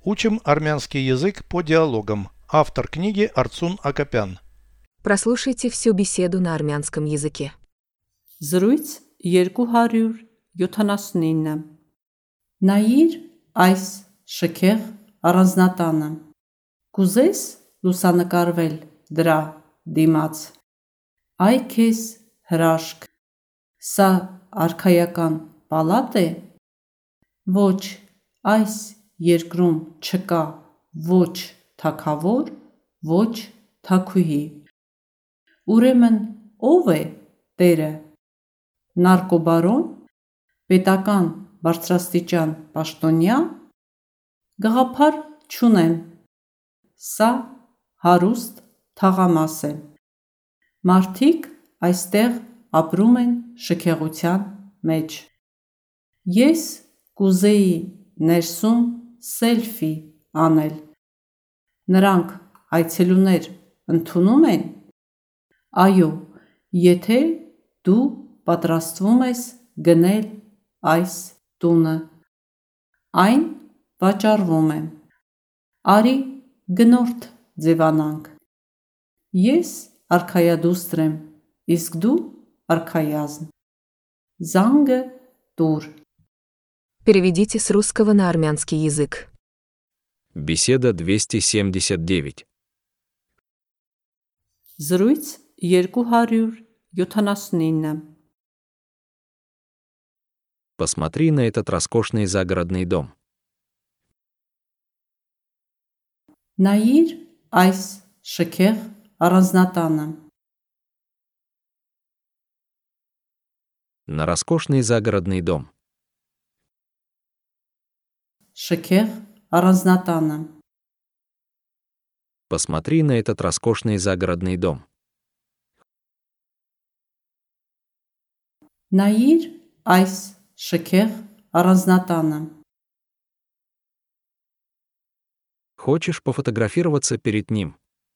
Учим армянский язык по диалогам. Автор книги Арцун Акопян. Прослушайте всю беседу на армянском языке. Զրույց 279 Նայիր այս շքեղ առանձնատանը, կուզես լուսանկարվել դրա դիմաց, այ քեզ հրաշք, սա արքայական պալատ է, ոչ այս երկրում չկա ոչ թագավոր, ոչ թագուհի, ուրեմն ով է տերը, նարկոբարոն, պետական բարձրաստիճան պաշտոնյա, գաղափար չունեմ, սա հարուստ թաղամաս է, մարդիկ այստեղ ապրում են շքեղության մեջ, ես կուզեի ներսում սելֆի անել, նրանք այցելուներ ընդունում են, այո, եթե դու պատրաստվում ես գնել այս տունը, այն վաճառվում է, արի գնորդ ձևանանք, ես արքայադուստր եմ, իսկ դու արքայազն, զանգը տուր. Переведите с русского на армянский язык. Беседа 279. Զրույց 279 Посмотри на этот роскошный загородный дом. Նայիր այս շքեղ առանձնատանը, На роскошный загородный дом. շքեղ առանձնատանը, Посмотри на этот роскошный загородный дом. նայիր այս շքեղ առանձնատանը, Хочешь пофотографироваться перед ним?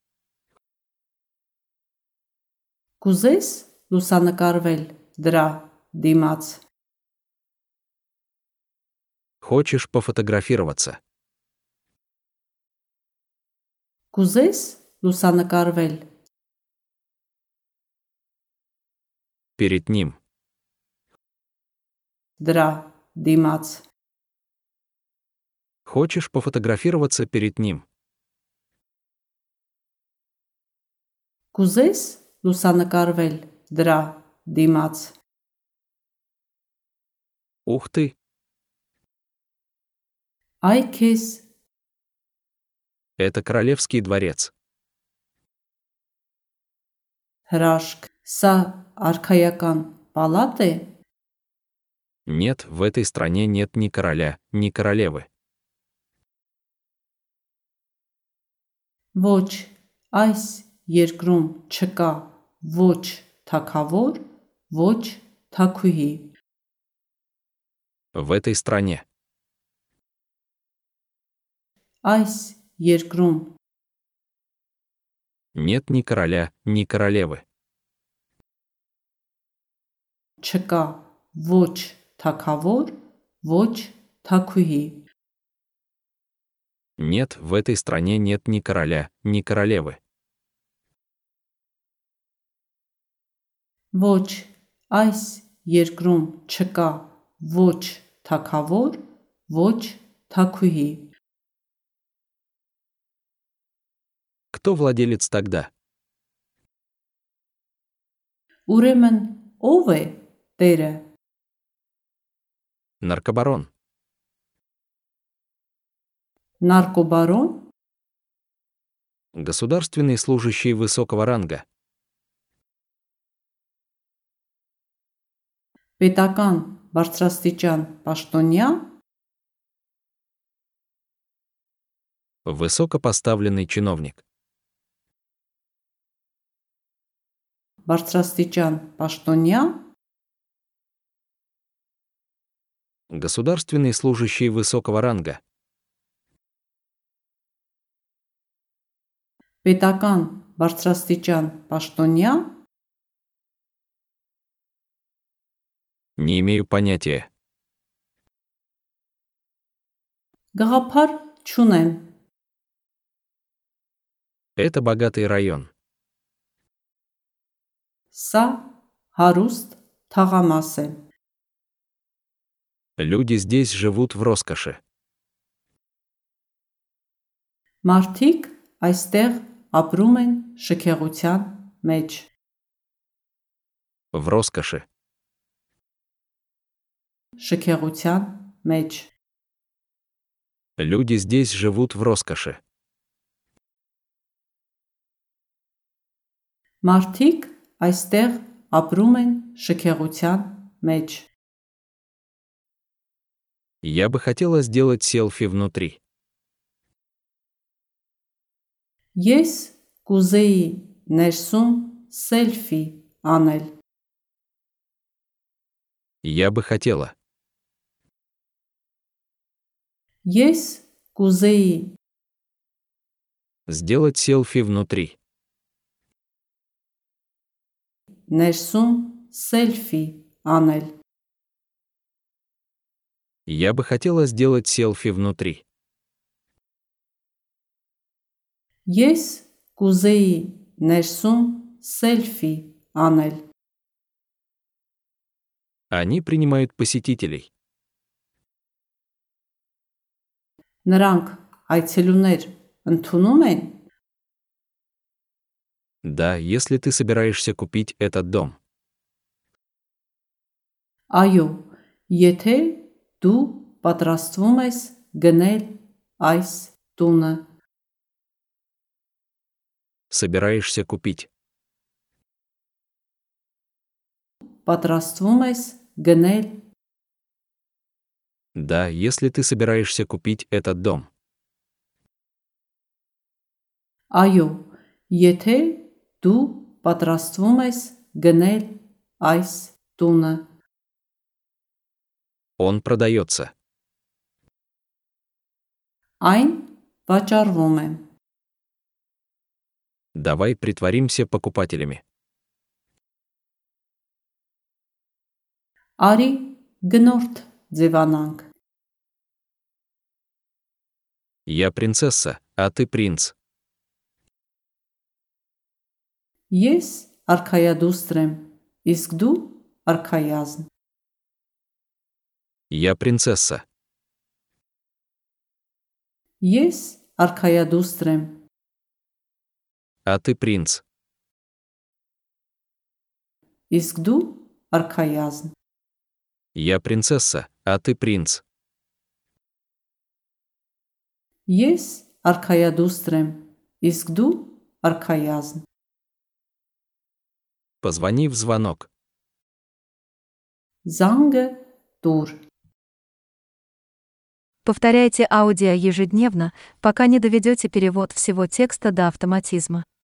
կուզես լուսանկարվել դրա դիմաց, Хочешь пофотографироваться? կուզես լուսանկարվել Перед ним. դրա դիմաց, Хочешь пофотографироваться перед ним? կուզես լուսանկարվել դրա դիմաց, Ух ты! այ քեզ Это королевский дворец. հրաշք, սա արքայական պալատ է, Нет, в этой стране нет ни короля, ни королевы. ոչ այս երկրում չկա ոչ թագավոր, ոչ թագուհի, В этой стране. այս երկրում Нет ни короля, ни королевы. չկա ոչ թագավոր, ոչ թագուհի, Нет, в этой стране нет ни короля, ни королевы. ոչ այս երկրում չկա ոչ թագավոր, ոչ թագուհի, Кто владелец тогда? ուրեմն ով է տերը, Наркобарон. նարկոբարոն, Государственный служащий высокого ранга. պետական բարձրաստիճան պաշտոնյա, Высокопоставленный чиновник. բարձրաստիճան պաշտոնյա, Государственный служащий высокого ранга. պետական բարձրաստիճան պաշտոնյա, Не имею понятия. գաղափար չունեմ։ Это богатый район. Սա հարուստ թաղամաս է։ Люди здесь живут в роскоши. Մարդիկ այստեղ ապրում են շքեղության մեջ։ В роскоши. Շքեղության մեջ։ Люди здесь живут в роскоши. Մարդիկ այստեղ ապրում են շքեղության մեջ։ Я бы хотела сделать селфи внутри. Ես կուզեի ներսում սելֆի անել։ Я бы хотела. Ես կուզեի Сделать селфи внутри. ներսում սելֆի անել։ Я бы хотела сделать селфи внутри. Ես կուզեի ներսում սելֆի անել։ Они принимают посетителей. Նրանք այցելուներ ընդունում են։ Да, если ты собираешься купить этот дом. Այո, եթե դու պատրաստվում ես գնել այս տունը։ Собираешься купить. Պատրաստվում ես գնել Да, если ты собираешься купить этот дом. Այո, եթե դու պատրաստվում ես գնել այս տունը։ Он продается. Այն վաճառվում է։ Давай притворимся покупателями. Արի գնորդ ձևանանք։ Я принцесса, а ты принц. Ես արքայադուստր եմ, իսկ դու արքայազն։ Я принцесса. Ես արքայադուստր եմ, А ты принц. իսկ դու արքայազն։ Я принцесса, а ты принц. Ես արքայադուստր եմ, իսկ դու արքայազն։ Позвони в звонок. Զանգը տուր։ Повторяйте аудио ежедневно, пока не доведете перевод всего текста до автоматизма.